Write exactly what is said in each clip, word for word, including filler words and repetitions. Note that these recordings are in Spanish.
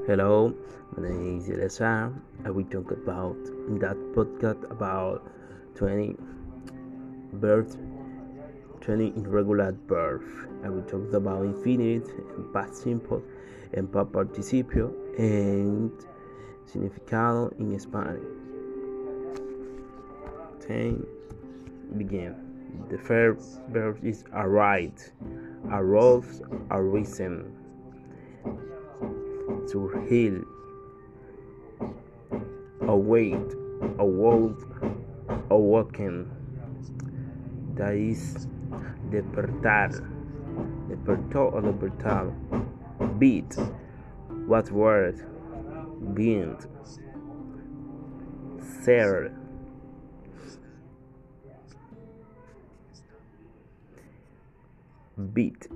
Hello, my name is Elisa. I will talk about in that podcast about twenty verbs, twenty irregular verbs. I will talk about infinite and past simple and past participio and significado in Spanish. Ten begin. The first verb is arrived, arose, arisen, to heal, await, awoke, awoken. That is despertar, despertó o despertar. Beat, what word? Bind, ser. Beat,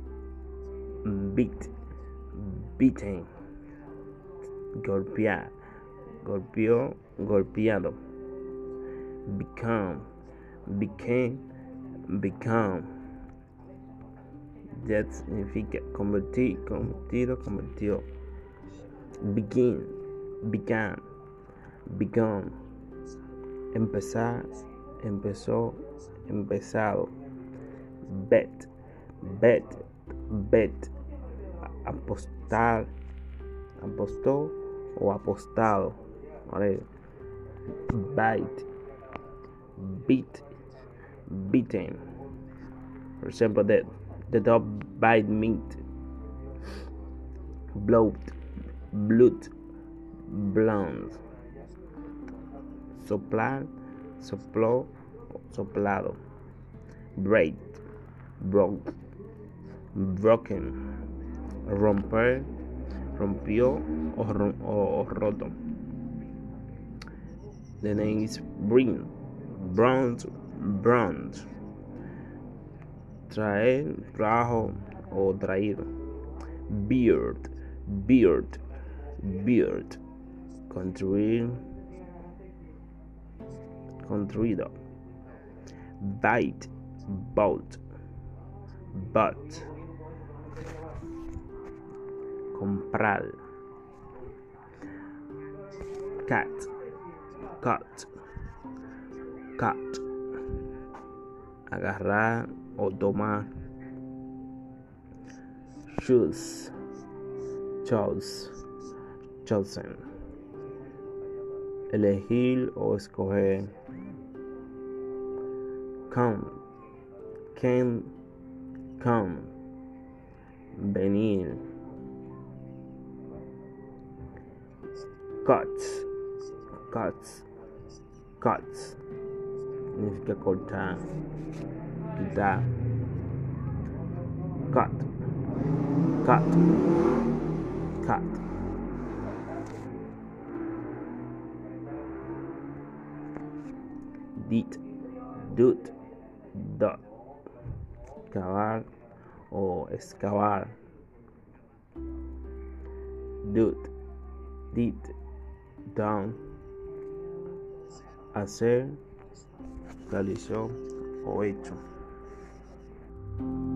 beat, beaten. Golpear, golpeó, golpeado. Become, became, become. That significa convertir, convertido, convirtió. Begin, began, begun. Empezar, empezó, empezado. Bet, bet, bet. Apostar, apostó o apostado. Vale. Bite, beat, beaten. For example, the, the dog bite meat. Bloat, blood, blonde. Soplar, sopló, soplado. Break, broke, broken. Romper, rompió o, rom, o, o roto. The name is bring, bronze, bronze. Traer, trajo o traído. Beard, beard, beard. Construir, construido. Bite, boat, but. Comprar. Cat, cut, cut. Agarrar o tomar. Choose, chose, chosen. Elegir o escoger. Come, came, come. Venir. Cuts, cuts, cuts. Significa cortar, quitar. Cut, cut, cut. Did, did, dot. Cavar o excavar. Did, did. Down, hacer, realizó o hecho.